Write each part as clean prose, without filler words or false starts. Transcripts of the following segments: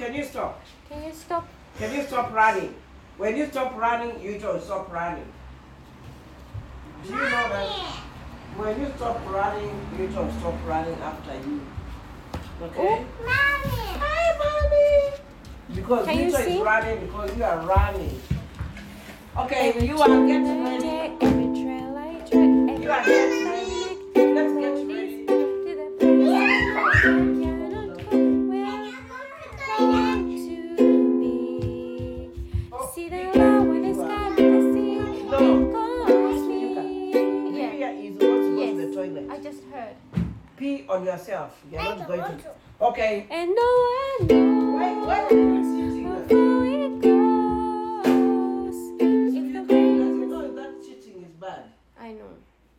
Can you stop? Can you stop? Can you stop running? When you stop running, you don't stop running. Do you know that? When you stop running, you don't stop running after you. Okay? Mommy. Hi, mommy. Because Can you Vito is sing? running because you are running. Okay, Every you are getting turn I ready. take, every trail I tread, every You are path getting I ready. make, Let's will get lead ready. to the place I cannot go, where I want to be. Oh, See the love when the sky and the sea, No. it calls me. Lydia Yeah. is supposed to go to the Yes, toilet. I just heard. Pee on yourself. You're not going to. Okay. And no one knows Why are you cheating? how far it goes. If the Does way you know that cheating is bad? I know.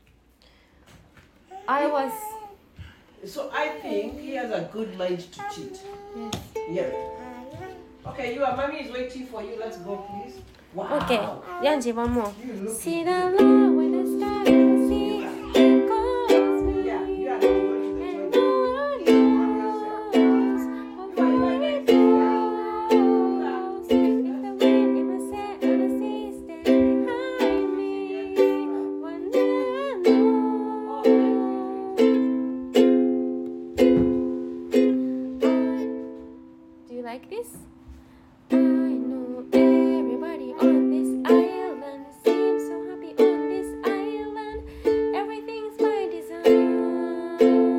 I was. So I think he has a good mind to cheat. Yes. Yeah. Okay, your mommy is waiting for you. Let's go, please. Wow. Okay, Yanji, one more. You look See good. the love when the sky and the sea, it calls me. Yeah, you are not going to the And toilet. no one knows how far it goes. If the wind in my sail on the sea stands behind me, one day I know. Do you like this? I know everybody on this island seems so happy on this island. Everything's by design.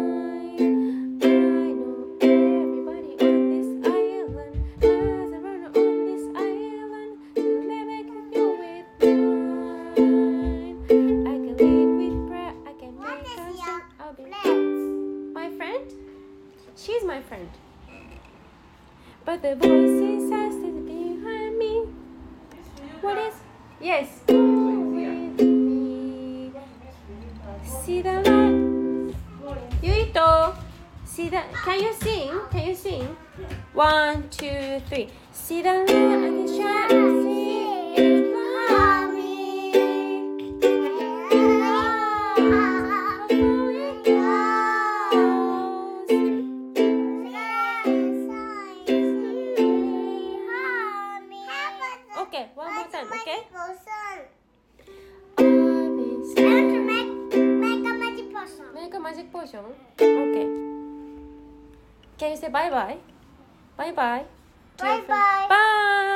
I know everybody on this island has a runner on this island to let me go with mine. I can lead with prayer. I can make a song. I'll be my friend. She's my friend. But the voices are still behind me. What is? Yes. Go with me. See the light. Yuito. See the. Can you sing? Can you sing? 1, 2, 3. See the light and the shadow. See it behind me. Okay, one more time, okay? Make a magic potion? Okay. Can you say bye bye? Bye bye. Bye bye. Bye.